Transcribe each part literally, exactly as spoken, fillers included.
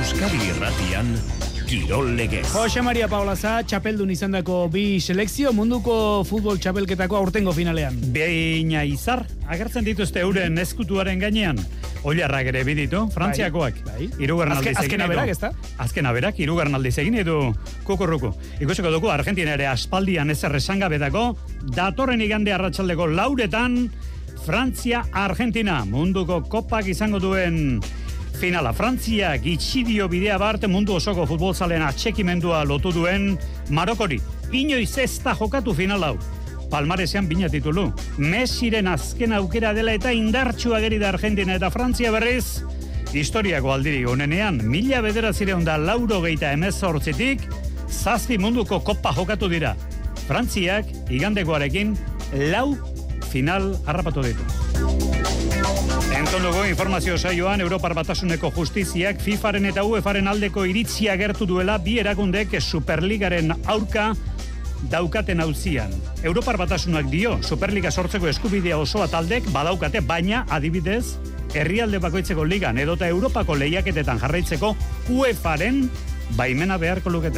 Euskadi Irratian Kirol Legez. Jose Maria Paulaza, txapeldun izandako bi selekzio munduko futbol txapelketako aurtengo finalean. Beina izar, agertzen dituzte euren eskutuaren gainean. Oilarrak ere biditu, Frantziakoak. Bai. Hirugarren aldiz egin Azken aberak, ezta? Azken aberak, hirugarren aldiz egin edu kukurruku. Ikusiko dugu, Argentina ere aspaldian ezer esangabetako, datorren igande arratsaldeko lauretan, Frantzia-Argentina, munduko kopak izango duen finala. Frantzia gitxidio bidea bart mundu osoko futbolzalen atxekimendua lotu duen Marokori. Inoiz ez da jokatu final hau. Palmaresean bina titulu. Messiren azken aukera dela eta indartsua geri da Argentina eta Frantzia berriz. Historiako aldiri honenean, mila bederatzireun da lauro geita emezortzitik, zazpi munduko kopa jokatu dira. Frantziak igandekoarekin lau final harrapatu ditu. Entzun dugu informazio saioan Europar Batasuneko Justiziak FIFAren eta UEFAren aldeko iritzia agertu duela bi erakundek Superligaren aurka daukaten auzian. Europar Batasunak dio Superliga sortzeko eskubidea osoa taldek badaukate, baina adibidez herrialde bakoitzeko ligan edota Europako lehiaketetan jarraitzeko UEFAren baimena beharko lukete.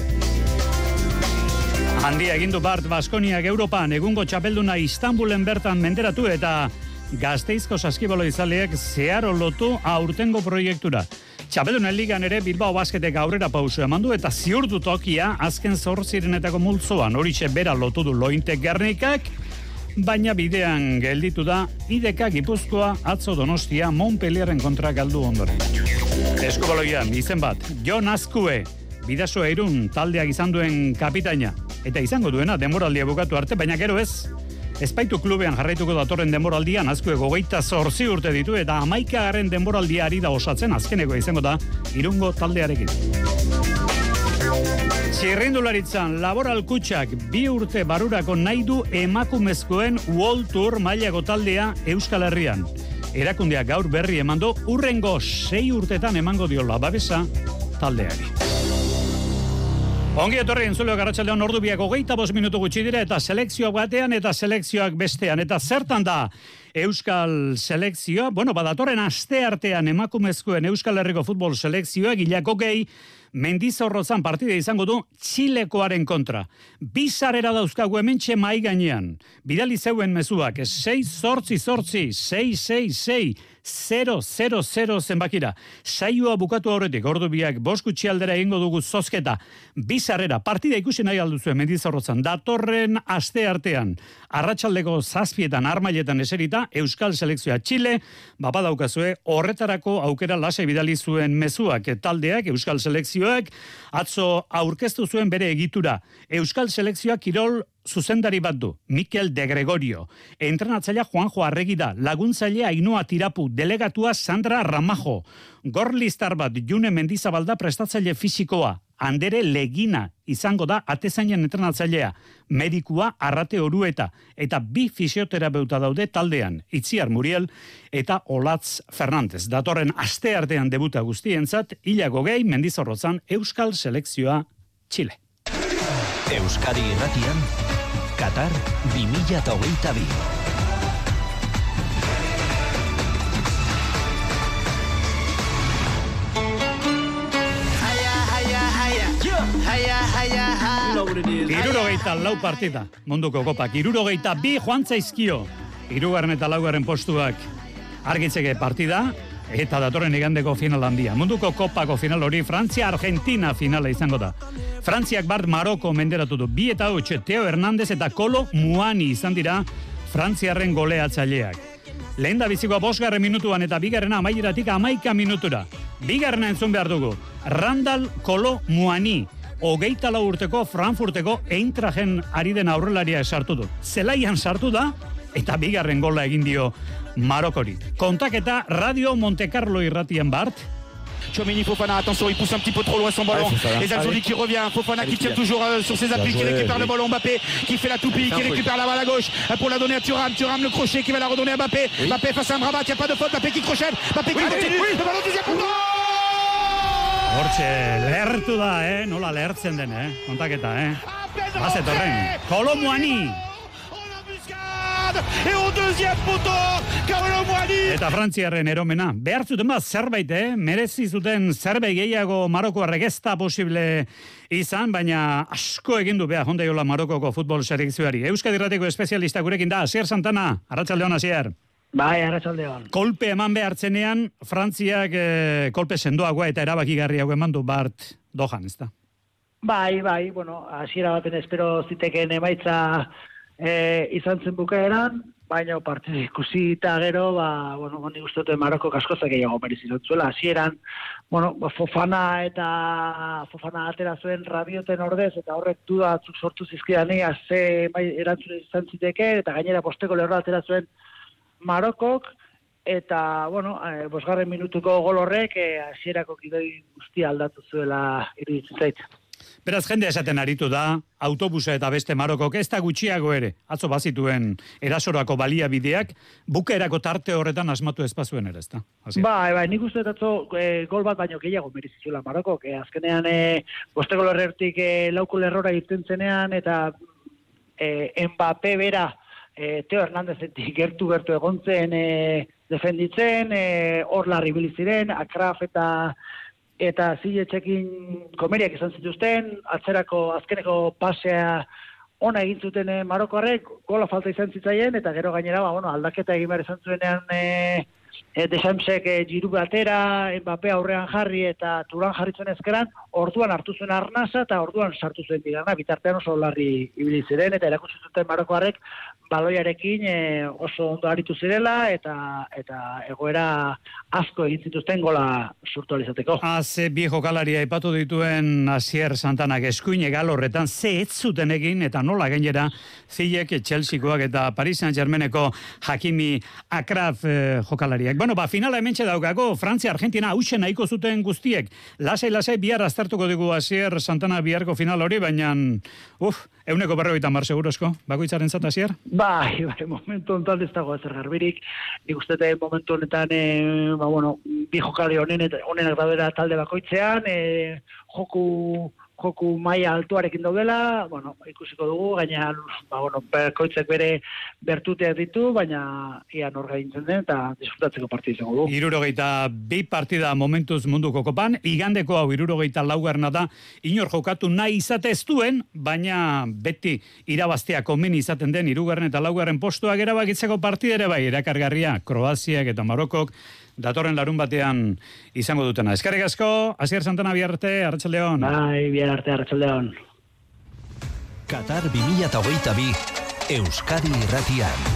Handia egindu Bart Baskoniak Europan egungo txapelduna Istanbulen bertan menderatu eta Gasteizko saskibalo izaleak zeharo lotu aurtengo proiektura. Txapeldunen ligan ere Bilbao Basketek aurrera pausu eman du eta ziurdu tokia azken zortzirenetako multzoan horixe bera lotu du Lointe Gernikak, baina bidean gelditu da I D K Gipuzkoa atzo Donostia Montpellierren kontra galdu ondoren. Eskubaloian izen bat, Jon Azkue, Bidasoa Irun taldeak izan duen kapitaina, eta izango duena denboraldia bukatu arte, baina gero ez. Espaitu klubean jarraituko datorren denboraldian Azkue gogeita zortzi urte ditu eta hamaikagarren denboraldia ari da osatzen azkeneko izango da Irungo taldearekin. Txirrindularitzan Laboral Kutxak bi urte barurako nahi du emakumezkoen World Tour mailako taldea Euskal Herrian. Erakundeak gaur berri emando urrengo sei urtetan emango diola babesa taldeari. Ongi etorri entzuleok arratsaldean ordu biak hogeita bost minutu gutxi dira eta selekzioak batean eta selekzioak bestean. Eta zertan da Euskal selekzioa? Bueno, badatorren aste artean emakumezkoen Euskal Herriko futbol selekzioa gilako gehi Mendizorrotzan partida izango du Txilekoaren kontra. Bizarera dauzkagu hementxe mai gainean. Bidali zeuen mezuak sei zortzi zortzi sei sei sei zero zero zero zenbakira. Saioa bukatu aurretik ordu biak bost gutxi aldera egingo dugu zozketa. Bizarrera partida ikusi nahi alduzue Mendizorrotzan datorren aste artean. Arratsaldeko zazpietan armailetan eserita Euskal selekzioa Txile, bapa daukazue horretarako aukera lasai bidali zuen mezuak taldeak Euskal selekzioak atzo aurkeztu zuen bere egitura. Euskal selekzioak kirol zuzendari bat du, Mikel de Gregorio. Entrenatzailea Juanjo Arregi da, laguntzailea Ainhoa Tirapu, delegatua Sandra Ramajo. Gorlistar bat June Mendizabalda prestatzaile fisikoa. Andere Legina izango da atezainen entrenatzailea, medikua Arrate Orueta eta bi fisioterapeuta daude taldean, Itziar Muriel eta Olatz Fernandez. Datorren aste artean debuta guztientzat, hilako gehi Mendizorrotzan Euskal selekzioa Txile. Euskadi Irratian Qatar bi mila hogeita bi. Hirurogeita lau partida, munduko kopak. Hirurogeita bi joan zaizkio. Hirugarren eta laugarren postuak argitzeke partida, eta datorren igandeko final handia. Munduko kopako final hori Frantzia-Argentina finala izango da. Frantziak bart Maroko menderatu du. Bi eta hots, Teo Hernandez eta Kolo Muani izan dira Frantziarren goleatzaileak. Lehen da bizikoa bosgarren minutuan eta bigarrena amaieratik amaika minutura. Bigarrena entzun behar dugu. Randall Kolo Muani. Hogeita lau urteko Frankfurteko Eintrachten ari den aurrelaria sartu du. Zelaian sartu da eta bigarren gola egin dio Marokori. Kontaketa Radio Monte Carlo irratian bart. Tchouaméni Fofana, attention, il pousse un petit peu trop loin son ballon. Les Alzoni qui revient, Fofana qui tient toujours euh, sur ses appuis, qui récupère le ballon, Mbappé qui fait la toupie, qui récupère la balle à gauche pour la donner à Thuram, Thuram le crochet qui va la redonner à Mbappé. Mbappé face à Amrabat, il n'y a pas de faute, Mbappé qui crochette, Mbappé qui continue, le ballon deuxième coup. Hortxe, lehertu da, eh? Nola lehertzen den, eh? Kontaketa, eh? Bazetorren, Kolo Muani. Et au deuxième poteau, Kolo Muani. Eta Frantziarren eromena. Behar zuten bat zerbait, eh? Merezi zuten zerbait gehiago Marokoarrek ez da posible izan, baina asko egin du behar hondaiola Marokoko futbol selekzioari. Euskadi Irratiko espezialista gurekin da, Asier Santana. Arratsaldeon, Asier. Bai, arratsaldeon. Kolpe eman behartzenean, Frantziak eh, kolpe sendoagoa eta erabakigarriago eman du Bart Dohan, ez da? Bai, bai, bueno, hasiera baten espero ziteken emaitza e, izan zen bukaeran, baina partidu ikusi eta gero, ba, bueno, nik uste dut Maroko askoz gehiago merezi zuela. Hasieran, bueno, Fofana eta Fofana atera zuen Rabioten ordez, eta horrek duda batzuk sortu zizkidani, ze bai, erantzun izan ziteke, eta gainera posteko lerroa atera zuen Marokok, eta, bueno, e, bosgarren minutuko gol horrek, hasierako e, gidoi guztia aldatu zuela iruditzen zait. Beraz, jende esaten aritu da, autobusa eta beste Marokok ez da gutxiago ere, atzo bazituen erasorako baliabideak, bukaerako tarte horretan asmatu espazuen ere, ez da? Bai, bai, nik uste atzo e, gol bat baino gehiago merizizuela Marokok, e, azkenean e, bosteko lerrertik e, lauko lerrora irten zenean, eta e, Mbappé bera, e, Teo Hernandezetik gertu-gertu egon zen e, defenditzen, hor e, larri biliziren, Akraf eta eta ziletxekin komeriak izan zituzten, atzerako azkeneko pasea ona egin zuten e, Marokoarrek, gola falta izan zitzaien, eta gero gainera, ba, bueno, aldaketa egin behar izan zuenean e, e, Deschamsek e, Giroud batera, Mbappé aurrean jarri eta Turan jarri zuen ezkeran, orduan hartu zuen Arnasa eta orduan sartu zuen Bigana, bitartean oso larri ibili ziren, eta erakutsi zuten Marokoarrek baloiarekin e, oso ondo aritu zirela, eta eta egoera asko egin zituzten gola surtu alizateko. Haze bi jokalaria aipatu dituen Asier Santanak eskuine gal horretan, ze ez zuten egin, eta nola gainera zilek Chelseakoak eta Paris Saint-Germaineko Hakimi Akraf eh, jokalariak. Bueno, ba, finala hementxe daukago, Frantzia-Argentina hausen nahiko zuten guztiek. Lasai-lasai bihar aztertuko dugu Asier Santana biharko final hori, baina, uf, euneko berrogeita mar segurozko, bakoitzaren zat, Asier? Bai, bai, momentu honetan ez dago ezer garbirik. Nik uste dut momentu honetan, e, ba, bueno, bi jokali honen, honenak daudela talde bakoitzean, e, joku, joku maila altuarekin daudela, bueno, ikusiko dugu, gaina, ba, bueno, bakoitzek bere bertuteak ditu, baina ia nor gaintzen den, eta disfrutatzeko partida izango dugu. Hirurogeita bi partida momentuz munduko kopan, igandeko hau hirurogeita laugarna da, inor jokatu nahi izate ez duen, baina beti irabaztea komeni izaten den hirugarren eta laugarren postuak erabakitzeko partida ere bai, erakargarria, Kroaziak eta Marokok, datorren larun batean izango dutena. Eskerrik asko, Asier Santana bihar arte, arratsaldeon. Bai, bihar arte, arratsaldeon. Qatar bi mila hogeita bi, Euskadi Irratian.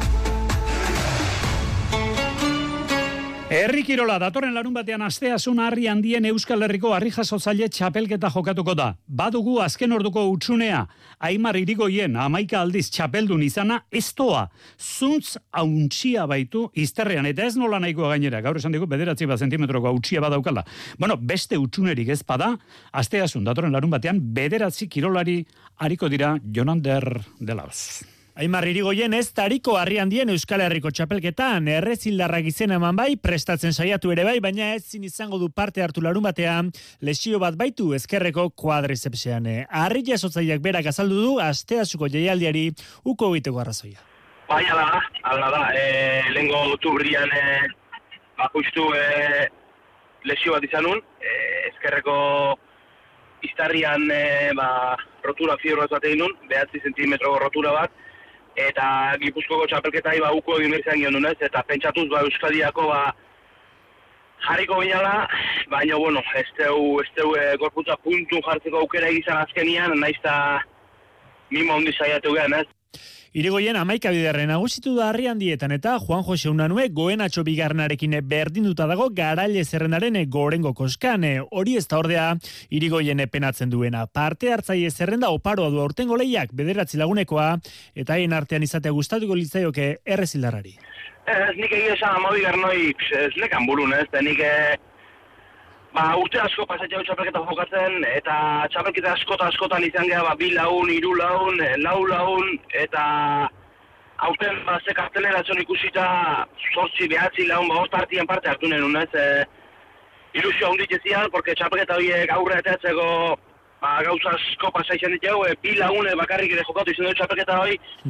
Herri kirola, datorren larun batean asteasun harri handien Euskal Herriko harri jasotzaile txapelketa jokatuko da. Badugu azken orduko utsunea, Aimar Irigoien hamaika aldiz txapeldun izana, ez doa, zuntz hauntxia baitu izterrean, eta ez nola nahikoa gainera, gaur esan digu bederatzi bat zentimetroko hauntxia badaukala. Bueno, beste utsunerik ez bada, asteasun datorren larun batean bederatzi kirolari hariko dira Jonander de Laos. Aimar Irigoien ez tariko harri handien Euskal Herriko txapelketan, errezildarrak izena eman bai, prestatzen saiatu ere bai, baina ezin izango du parte hartu larun batean, lesio bat baitu ezkerreko kuadrizepsean. Harri jasotzaileak berak azaldu du, asteasuko jaialdiari uko egiteko arrazoia. Bai, ala da, ala da, e, lehengo otubrian e, bakustu e, lesio bat izanun, e, ezkerreko iztarrian e, ba, rotura fibro bat egin nun, behatzi zentimetro rotura bat, eta Gipuzkoako txapelketai ba uko egin behar izan gion dunez, eta pentsatuz ba Euskadiako ba jarriko binala, baina bueno, ez teu, ez teu e, gorputza puntu jartzeko aukera egizan azkenian, naiz eta mimo hondi saiatu gehan, ez? Irigoien hamaika biderren nagusitu da harri handietan eta Juan Jose Unanue Goenatxo bigarrenarekin berdinduta dago garaile zerrendaren gorengo koskan. Hori ez da ordea Irigoien penatzen duena. Parte hartzaile zerrenda oparoa du aurtengo lehiak bederatzi lagunekoa eta haien artean izatea gustatuko litzaioke errezildarrari. Ez, nik egia esan amabigarren hori ez lekan burun, ez, nik ba, urte asko pasatzea txapelketa jokatzen, eta txapelketa askota askotan izan geha, ba, bi laun, hiru laun, lau laun, eta aurten ba, ze karteleratzen ikusita, zortzi, behatzi laun, ba, host partien parte hartu nenun, ez, e, ilusio handit ezian, porque txapelketa horiek aurre eteatzeko ba, gauza asko pasa izan ditu, e, bi laune bakarrik ere jokatu izan dut txapelketa hori,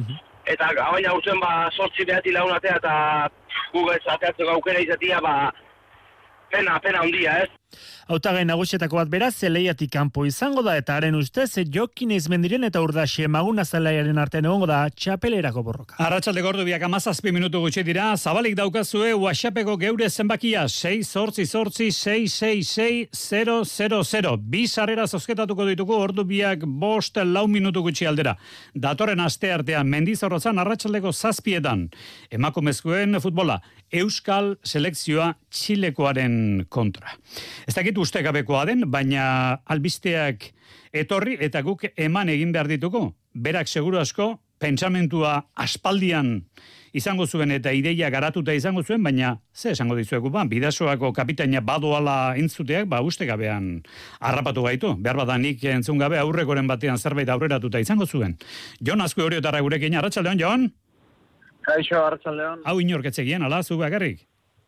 eta baina urtzen ba sortzi behati lagun atea eta guk ez ateatzeko aukera izatea, ba pena, pena handia, ez? Hautagai nagusietako bat beraz, Zeleiatik kanpo izango da, eta haren ustez, Jokin Izmendiren eta Urdaxe Maguna Zelaiaren artean egongo da txapelerako borroka. Arratsaldeko ordubiak hamazazpi minutu gutxi dira, zabalik daukazue WhatsAppeko geure zenbakia sei zortzi zortzi sei sei sei zero zero zero. Bi sarrera zozketatuko dituko ordubiak bost lau minutu gutxi aldera. Datorren aste artean Mendizorrotzan arratsaldeko zazpietan. Emakumezkoen futbola, Euskal selekzioa Txilekoaren kontra. Ez dakit ustekabekoa den, baina albisteak etorri eta guk eman egin behar dituko. Berak seguru asko, pentsamentua aspaldian izango zuen eta ideia garatuta izango zuen, baina ze esango dizuegu ba, Bidasoako kapitaina badoala entzuteak, ba ustekabean harrapatu gaitu. Behar badanik entzun gabe aurrekoren batean zerbait aurreratuta izango zuen. Jon Azkue Oriotarra gurekin, arratsaldeon, Jon? Kaixo, arratsaldeon. Hau inorketzegien, ala, zu bakarrik?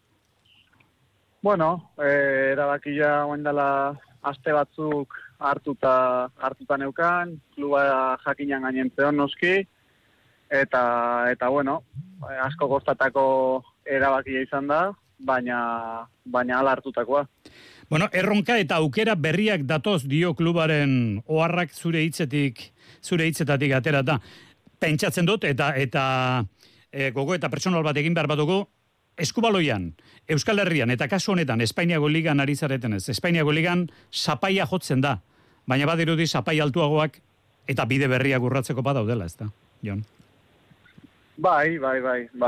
Bueno, eh, erabakia oendala aste batzuk hartuta hartuta neukan, kluba jakinan gainentzeon noski, eta eta bueno, asko kostatako erabakia izan da, baina baina hala hartutakoa. Bueno, erronka eta aukera berriak datoz dio klubaren oharrak zure hitzetik, zure hitzetatik aterata. Pentsatzen dut eta eta e, gogo eta pertsonal bat egin behar batuko, Eskubaloian, Euskal Herrian, eta kasu honetan, Espainiako ligan ari zaretenez. Espainiako ligan zapaia jotzen da, baina badirudi zapai altuagoak eta bide berriak urratzeko badaudela, ez da, Jon? Bai, bai, bai. Ba,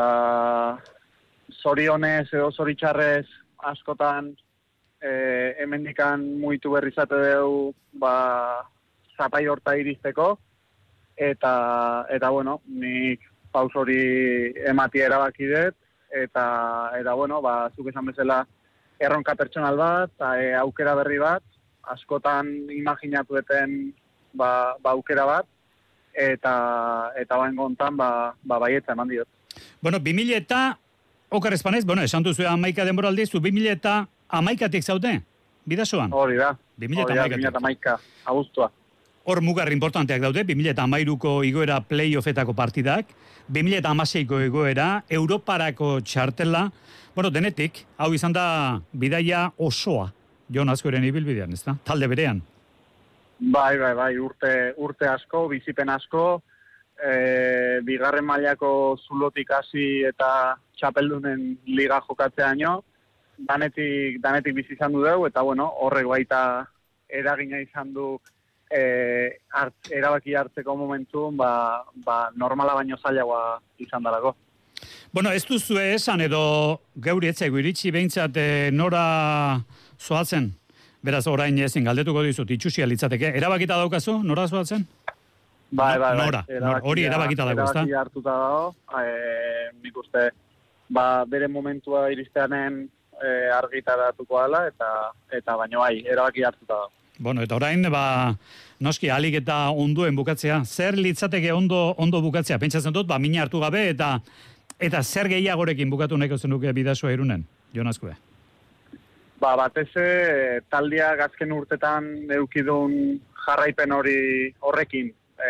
zorionez edo zoritxarrez askotan eh, hemendikan muitu berrizate dugu ba, zapai horta iristeko, eta, eta bueno, nik paus hori ematia erabaki dut, eta eta bueno, ba zuk esan bezala erronka pertsonal bat, e, aukera berri bat, askotan imaginatueten ba, ba aukera bat eta eta bain gontan ba ba baietza eman diot. Bueno, bi mila eta okar espanez, bueno, esan duzu hamaika denboraldi, zu bi mila eta hamaikatik zaude, Bidasoan? Hori da. bi mila eta hamaika abuztua. Hor mugar importanteak daude, bi mila eta hamairuko igoera playoffetako partidak, bi mila eta hamaseiko igoera, Europarako txartela, bueno, denetik, hau izan da bidaia osoa, Jon Azkueren ibilbidean, ez da? Talde berean. Bai, bai, bai, urte, urte asko, bizipen asko, e, bigarren mailako zulotik hasi eta txapeldunen liga jokatzeaino, danetik, danetik bizi izan du dugu, eta bueno, horrek baita eragina izan du E, hart, erabaki hartzeko momentun ba, ba, normala baino zailagoa izan dalako. Bueno, ez duzu esan edo geuri etzaigu iritsi behintzat e, nora zoatzen? Beraz, orain ezin galdetuko dizut, itxusia litzateke. Erabakita daukazu, nora zoatzen? Bai, bai, bai. Nora, nora, hori erabakita dago, ezta? Erabaki hartuta dago, e, nik uste, ba, bere momentua iristeanen e, argitaratuko dela, eta, eta baino bai, erabaki hartuta dago. Bueno, eta orain, ba, noski, alik eta onduen bukatzea. Zer litzateke ondo ondo bukatzea? Pentsatzen dut, ba, mina hartu gabe, eta eta zer gehiagorekin bukatu nahiko zenuke Bidasoa Irunen, Jon Azkue? Ba, batez taldeak azken urtetan eukidun jarraipen hori horrekin. E,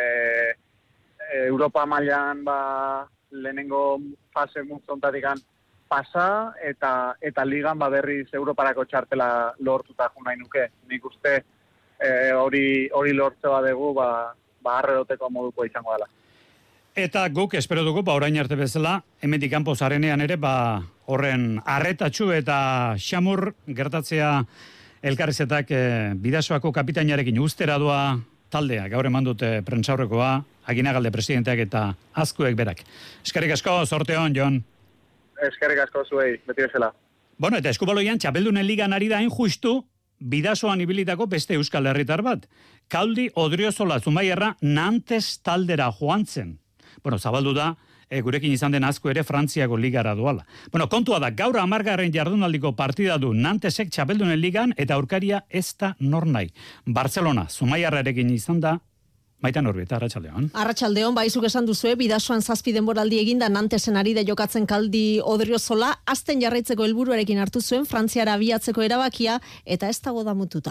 Europa mailan ba, lehenengo fase multzontatikan pasa, eta eta ligan ba, berriz Europarako txartela lortuta jo nahi nuke. Nik uste, E, hori hori lortze badegu ba ba arredoteko moduko izango dela. Eta guk espero dugu ba orain arte bezala hemendik kanpo zarenean ere ba horren arretatxu eta xamur gertatzea elkarrizetak e, Bidasoako kapitainarekin ustera doa taldea gaur eman dute prentsaurrekoa Aginagalde presidenteak eta Azkuek berak. Eskerrik asko, zorte on, Jon. Eskerrik asko zuei, beti bezala. Bueno, eta Eskubaloian txapeldunen ligan ari da hain justu Bidasoan ibilitako beste euskal herritar bat. Kaldi Odriozola Zumaierra Nantes taldera joan zen. Bueno, zabaldu da, e, gurekin izan den Azkue ere Frantziako ligara doala. Bueno, kontua da, gaur hamargarren jardunaldiko partida du Nantesek txapeldunen ligan eta aurkaria ez da nor nahi. Barcelona Zumaierrarekin izan da, Maitan Urbieta, arratsaldeon. Arratsaldeon, baizuk esan duzue, Bidasoan zazpi denboraldi eginda Nantesen ari da jokatzen Kaldi Odriozola, azten jarraitzeko helburuarekin hartu zuen Frantziara abiatzeko erabakia, eta ez dago damututa.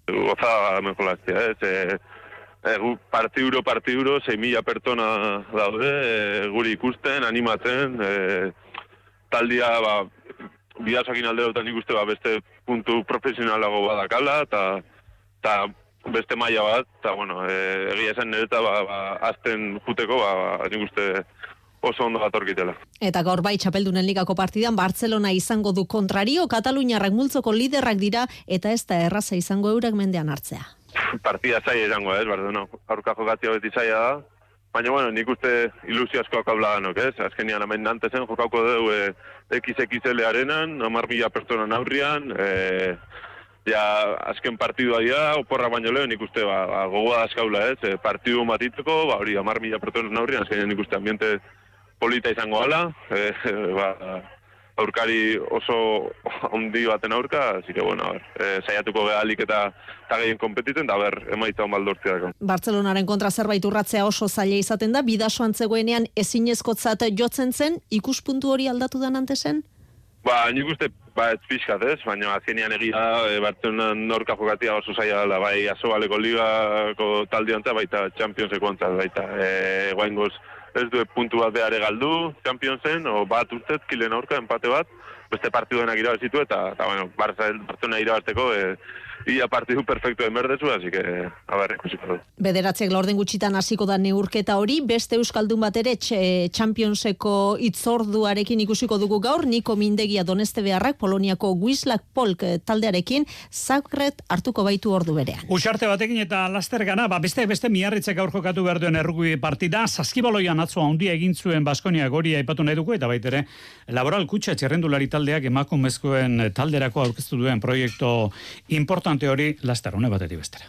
gozada mejolaztia, ez? E, e, partiduro, partiduro, sei mila pertsona daude, e, guri ikusten, animatzen, e, taldia, ba, bidasoakin alderotan ikuste, ba, beste puntu profesionalago badakala, eta beste maila bat, eta, bueno, e, egia esan nereta, ba, ba, azten juteko, ba, ba, nik uste oso ondo gatorkitela. Eta gaur bai txapeldunen ligako partidan Bartzelona izango du kontrario, Kataluniarrak multzoko liderrak dira, eta ez da erraza izango eurak mendean hartzea. Partida zaila izango, ez, Barcelona, aurka jokatzea beti zaila da, baina, bueno, nik uste ilusio asko akaula ganok, ez, azkenian hemen nantezen jokauko dugu e, X X L arenan, hamar mila pertsonan aurrian, e, ja, azken partidua dira, oporra baino lehen ikuste, ba, ba, gogoa dazkaula, ez, e, partidu matiteko, ba, hori, hamar mila pertsonan aurrian, azkenean ikuste ambiente polita izango gala, e, ba, aurkari oso ondi baten aurka, así que, bueno, a ver, e, saiatuko gehalik eta eta gehien kompetiten, da, ber, emaita on baldortzea dako. Bartzelonaren kontra zerbait urratzea oso zaila izaten da, bidasoan zegoenean ezinezkotzat jotzen zen, ikuspuntu hori aldatu da Nantesen? Ba, nik uste, ba, ez pixkat, ez, baina azkenean egia, e, Bartzelonan norka jokatia oso zaila dela, bai, Asobaleko ligako taldeantza, baita Championseko antza, baita, e, guaingoz, ez du puntu bat behar galdu Championsen, o bat urtet, kilen aurka, empate bat, beste partiduenak irabazitu, eta, eta bueno, Bartzelona irabazteko, e, ia partidu perfecto emerdezu, así que, a ver, ikusiko du. Bederatziak laurden gutxitan hasiko da neurketa hori, beste euskaldun bat ere Championseko itzorduarekin ikusiko dugu gaur, Niko Mindegia Doneste Beharrak, Poloniako Wisłak Polk taldearekin, Zagreb hartuko baitu ordu berean. Usarte batekin eta laster gana, ba, beste beste Miarritzek gaur jokatu behar duen errugbi partida, Saskibaloian atzo handia egin zuen Baskonia goria aipatu nahi dugu, eta baitere, Laboral Kutxa txerrendulari taldeak emakumezkoen talderako aurkeztu duen proiektu importante hori laster hone batetik bestera.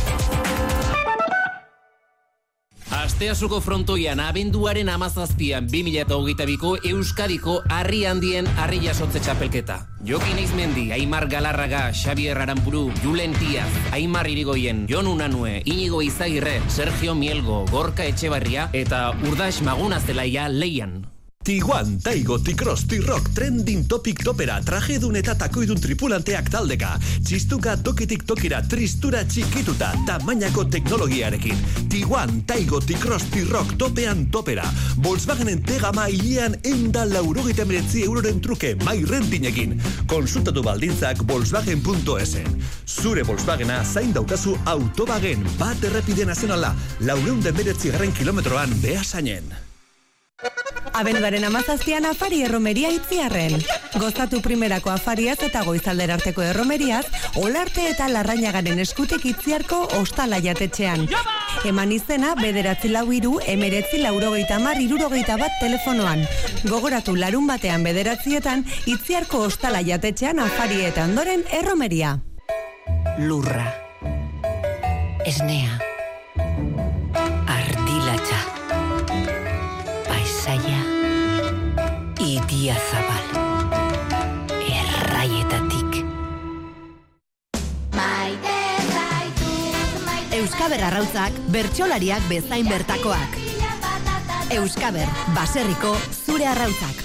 Asteasuko frontoian abenduaren amazazpian bi mila hogeita biko Euskadiko harri handien harri jasotze txapelketa. Jokin Eizmendi, Aimar Galarraga, Xabier Aranburu, Julen Tiaz, Aimar Irigoyen, Jon Unanue, Inigo Izagirre, Sergio Mielgo, Gorka Etxebarria eta Urdax Magunazelaia leian. Tiguan, Taigo, T-Cross, T-Rock, Trending Topic Topera, trajedun eta takoidun tripulanteak taldeka, txistuka tokitik tokira, tristura txikituta, tamainako teknologiarekin. Tiguan, Taigo, T-Cross, T-Rock, topean topera. Volkswagenen tegama hilean enda laurogeita meretzi euroren truke, mai rentinekin. Konsultatu baldintzak volkswagen punto es. Zure Volkswagena zain daukazu Autobagen, bat errepide nazionala, laureunde meretzi garren kilometroan behasainen. Abenduaren amazazpian afari erromeria Itziarren. Gozatu primerako afariaz eta goizalder arteko erromeriaz, Olarte eta Larrañagaren eskutik Itziarko ostala jatetxean. Eman izena, bederatzi lau iru, emeretzi laurogeita mar, irurogeita bat telefonoan. Gogoratu larun batean bederatzietan, Itziarko ostala jatetxean afari eta ondoren erromeria. Lurra. Esnea. Ardilatxa. Paisaia. Idia zabal. Erraietatik. Euskaber arrautzak, bertsolariak bezain bertakoak. Euskaber, baserriko zure arrautzak.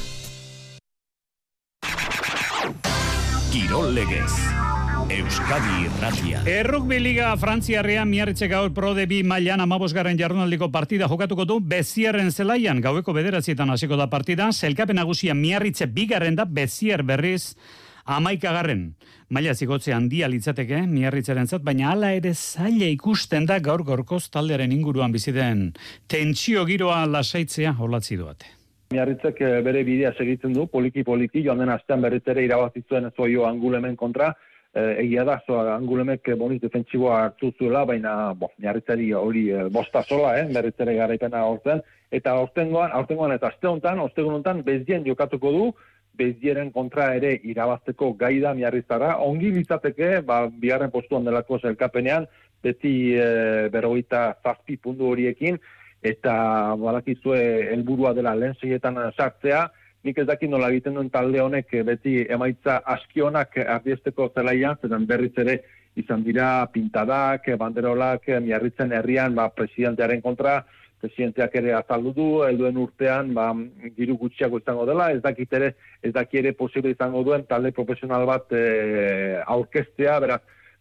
Kirol legez. Euskadi Irratia. Errugbi Liga Frantziarrean Miarritzek gaur Pro de bi mailan hamabosgarren jardunaldiko partida jokatuko du Bezierren zelaian, gaueko bederatzietan hasiko da partida, sailkapen nagusia Miarritze bigarren da, Bezier berriz hamaikagarren. Maila zigotze handia litzateke Miarritzerentzat, baina hala ere zaila ikusten da gaur gorkoz taldearen inguruan bizi den tentsio giroa lasaitzea olatzi duate. Miarritzek bere bidea segitzen du, poliki-poliki, joan den astean berriz ere irabazi zuen Zoio Angulemen kontra, egia da, zoa Angulemek boniz defentsiboa hartu zuela, baina bo, Miarritzari hori bosta sola, eh, berriz ere garaipena hortzen, eta aurtengoan, aurtengoan eta aste honetan, ostegun honetan, Bezien jokatuko du, Bezieren kontra ere irabazteko gai da Miarritzara, ongi litzateke, ba, bigarren postuan delako zelkapenean, beti e, berrogeita zazpi puntu horiekin, eta badakizue helburua dela lehen seietan sartzea, nik ez dakit nola egiten duen talde honek beti emaitza askionak ardiesteko zelaian, zeren berriz ere izan dira pintadak, banderolak, Miarritzen herrian, ba, presidentearen kontra, presidenteak ere azaldu du, helduen urtean, ba, diru gutxiago izango dela, ez dakit ere, ez dakit ere posible izango duen talde profesional bat e, aurkeztea, beraz,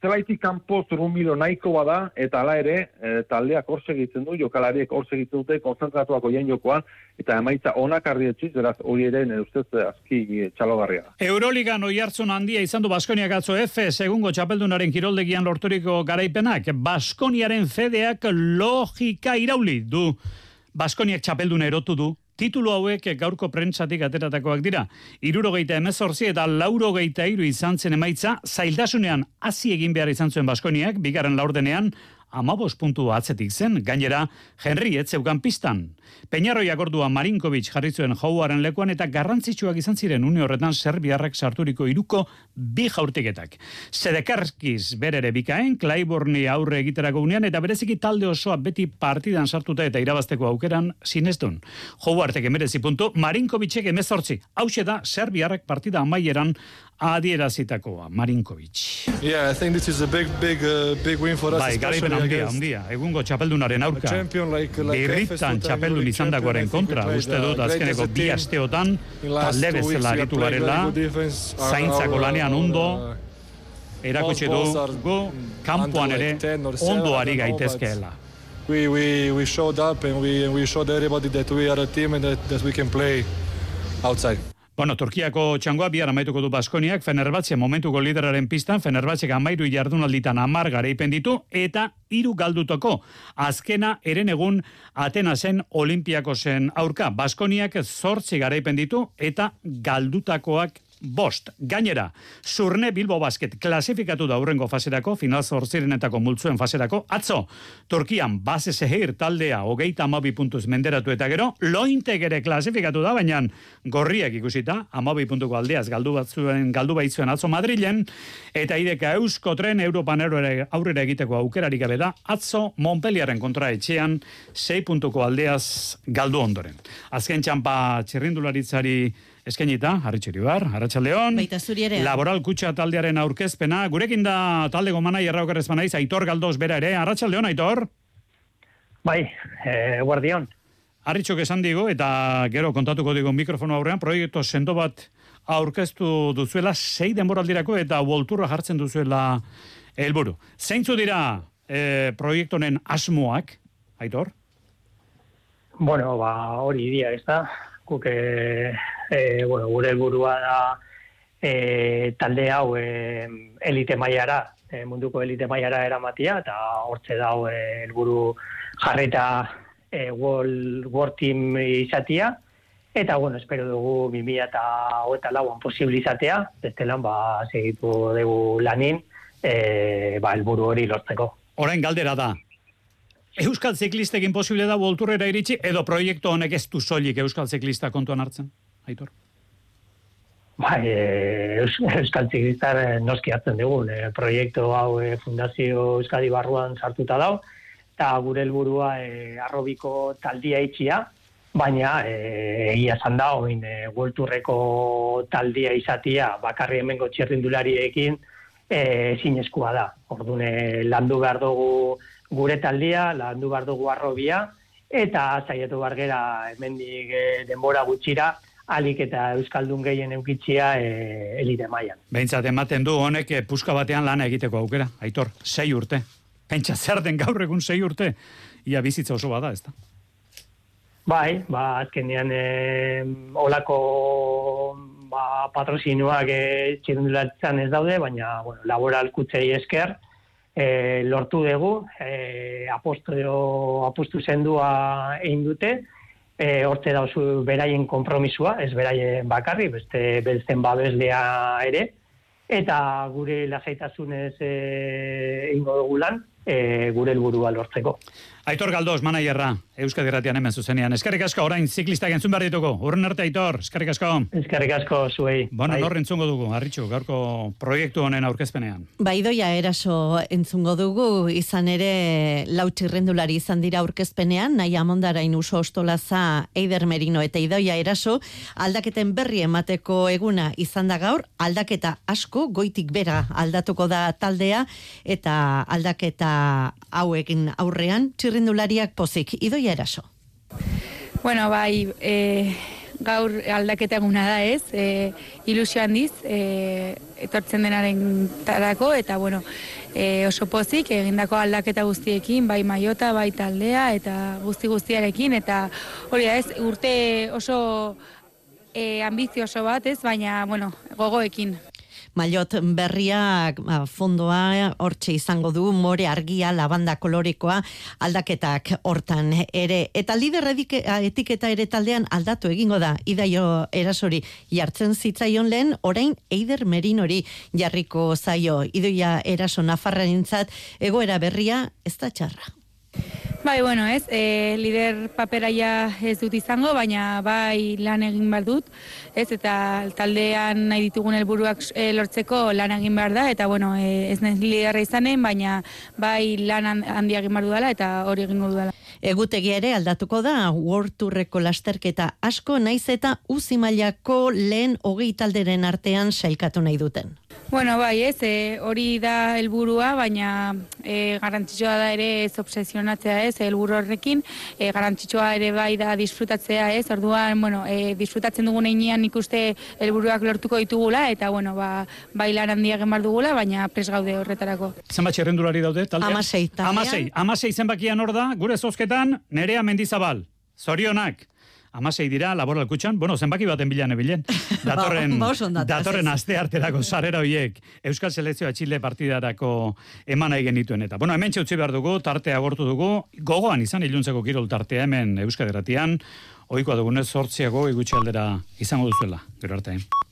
zelaitik kanpo zurrunbilo nahiko bada, eta hala ere, e, taldeak hor segitzen du, jokalariek hor segitzen dute, konzentratuak oien jokoan, eta emaitza onak arrietxiz, beraz hori ere, nire ustez, azki txalogarria. Euroligan oihartzun handia izan du Baskoniak atzo F, segungo txapeldunaren kiroldegian lorturiko garaipenak, Baskoniaren fedeak logika irauli du. Baskoniak txapelduna erotu du. Titulu hauek gaurko prentsatik ateratakoak dira. Hirurogeita hemezortzi eta laurogeita hiru izan zen emaitza, zailtasunean hasi egin behar izan zuen Baskoniak, bigarren laurdenean, amabos puntu atzetik zen, gainera, Henry etzeukan pistan. Peñarroiak ordua Marinkovic jarri zuen jouaren lekuan eta garrantzitsuak izan ziren une horretan serbiarrak sarturiko iruko bi jaurtiketak. Sedekarskiz berere bikaen, Claiborne aurre egiterako unean eta bereziki talde osoa beti partidan sartuta eta irabazteko aukeran sinestun. Jouartek emerezi puntu, Marinkovicek emezortzi. Hauxe da serbiarrak partida amaieran adierazitakoa, Marinkovic. Yeah, I think this is a big, big, uh, big win for us. Bai, garaipen handia, handia. Egungo txapeldunaren aurka. Like, like Birritan txapeldun izan dagoaren kontra. Uste dut, azkeneko bi asteotan, talde bezala aritu garela, zaintzako lanean ondo, erakutsi dugu, kanpoan ere, ondo ari gaitezkeela. We, we, we showed up and we, and we showed everybody that we are a team and that, that we can play outside. Bueno, Turkiako txangoa bihar amaituko du Baskoniak, Fenerbahce momentuko lideraren pistan, Fenerbahcek amairu jardunalditan amar garaipen ditu, eta hiru galdutako. Azkena eren egun Atenasen Olimpiakosen aurka. Baskoniak zortzi garaipen ditu, eta galdutakoak bost. Gainera, Zurne Bilbo Basket klasifikatu da aurrengo faserako, final zortzirenetako multzuen faserako. Atzo, Turkian base Sehir taldea hogeita amabi puntuz menderatu eta gero, Lointek ere klasifikatu da, baina gorriak ikusita, amabi puntuko aldeaz galdu batzuen, galdu baitzuen atzo Madrilen, eta ideka Eusko Tren Europan aurrera egiteko aukerarik gabe da, atzo Montpellieren kontra etxean, sei puntuko aldeaz galdu ondoren. Azken txampa txirrindularitzari eskainita, Harritxuri bar, Arratsaldeon. Baita zuri ere. Laboral Kutxa taldearen aurkezpena. Gurekin da talde gomanai erraukarrez banaiz, Aitor Galdoz bera ere. Arratsaldeon, Aitor. Bai, eh, guardion. Harritxok esan digo, eta gero kontatuko digo mikrofono aurrean, proiektu sendo bat aurkeztu duzuela, sei denboraldirako eta volturra jartzen duzuela helburu. Zeintzu dira eh, proiektu honen asmoak, Aitor? Bueno, ba, hori dira, ez da? Guk, e, e, bueno, gure helburua da e, talde hau e, elite mailara, e, munduko elite mailara eramatia, eta hortze dau e, helburu jarreta e, World, World Team izatia, eta, bueno, espero dugu bi mila hogeita lauan posible izatea, bestelan, ba, segitu dugu lanin, e, ba, helburu hori lortzeko. Orain galdera da, Euskal ziklistekin posible da volturrera iritsi, edo proiektu honek ez du soilik Euskal ziklista kontuan hartzen, Aitor? Bai, e, Euskal ziklistar noski hartzen dugun. E, proiektu hau e, Fundazio Euskadi barruan sartuta dau, eta gure helburua e, arrobiko taldia itxia, baina e, egia esan da, oin e, volturreko taldia izatia, bakarri hemengo txirrindulariekin e, zinezkoa da. Orduan, e, landu behar dugu gure taldia, landu behar dugu arrobia, eta saiatu behar gera hemendik e, denbora gutxira, alik eta Euskaldun gehien eukitzia e, elite mailan. Behintzat ematen du honek e, puska batean lana egiteko aukera, Aitor, sei urte. Pentsa zer den gaur egun sei urte, ia bizitza oso bada, ez da? Bai, ba, azkenean e, olako ba, patrozinoak e, txirundulatzen ez daude, baina bueno, laboral kutzei esker, E, lortu dugu, e, apostu, apostu zendua egin dute, e, hortze dauzu beraien konpromisua, ez beraien bakarri, beste beltzen babeslea ere, eta gure lasaitasunez e, egingo dugu lan, e, gure helburua lortzeko. Aitor Galdoz, manaierra, Euskadi Irratian hemen zuzenean. Eskerrik asko, orain ziklistak entzun behar dituko. Urren arte, Aitor, eskerrik asko. Eskerrik asko, zuei. Bueno, bai. Norren entzungo dugu, Harritxu, gaurko proiektu honen aurkezpenean. Bai, Idoia Eraso entzungo dugu, izan ere lau txirrendulari izan dira aurkezpenean, nahi amondarain Uso Ostolaza, Eider Merino eta Idoia Eraso, aldaketen berri emateko eguna izan da gaur, aldaketa asko, goitik bera aldatuko da taldea, eta aldaketa hauekin aurrean, txirrendulariak pozik. Idoia Eraso. Bueno, bai, e, gaur aldaketa eguna da, ez? E, ilusio handiz, e, etortzen denaren tarako, eta, bueno, e, oso pozik, egindako aldaketa guztiekin, bai maiota, bai taldea, eta guzti guztiarekin, eta hori da, ez, urte oso e, ambizioso bat, ez? Baina, bueno, gogoekin. Maiot berriak fondoa hortxe izango du, more argia, lavanda kolorekoa, aldaketak hortan ere. Eta lider etiketa ere taldean aldatu egingo da, Idaio Erasori jartzen zitzaion lehen, orain Eider Merinori jarriko zaio. Idoia Eraso Nafarrarentzat egoera berria ez da txarra. Bai, bueno, ez, e, lider paperaia ez dut izango, baina bai lan egin behar dut, ez, eta taldean nahi ditugun helburuak e, lortzeko lan egin behar da, eta, bueno, e, ez nahi liderra izanen, baina bai lan handia egin behar dudala, eta hori egingo dudala. Egutegia ere aldatuko da, World Tourreko lasterketa asko, naiz eta uzi mailako lehen hogei talderen artean sailkatu nahi duten. Bueno, bai, ez, e, hori da helburua, baina e, garrantzitsua da ere ez obsesionatzea, ez, helburu horrekin, e, garrantzitsua ere bai da disfrutatzea, ez, orduan, bueno, e, disfrutatzen dugun einean ikuste helburuak lortuko ditugula, eta, bueno, ba, bai lan handia egin behar dugula, baina pres gaude horretarako. Zenbat txerrendulari daude, taldean? Amasei, taldean. Amasei, amasei zenbakian hor da, gure zozketan, Nerea Mendizabal, zorionak. Amasei dira, laboral kutxan, bueno, zenbaki baten bilan ebilen. Datorren, datorren aste arterako sarrera hoiek Euskal Selekzioa Txile partidarako eman nahi genituen eta. Bueno, hemen txutzi behar dugu, tartea agortu dugu, gogoan izan iluntzeko kirol tartea hemen Euskal Herratian, ohikoa dugunez zortziago igutxe aldera izango duzuela, gero arte.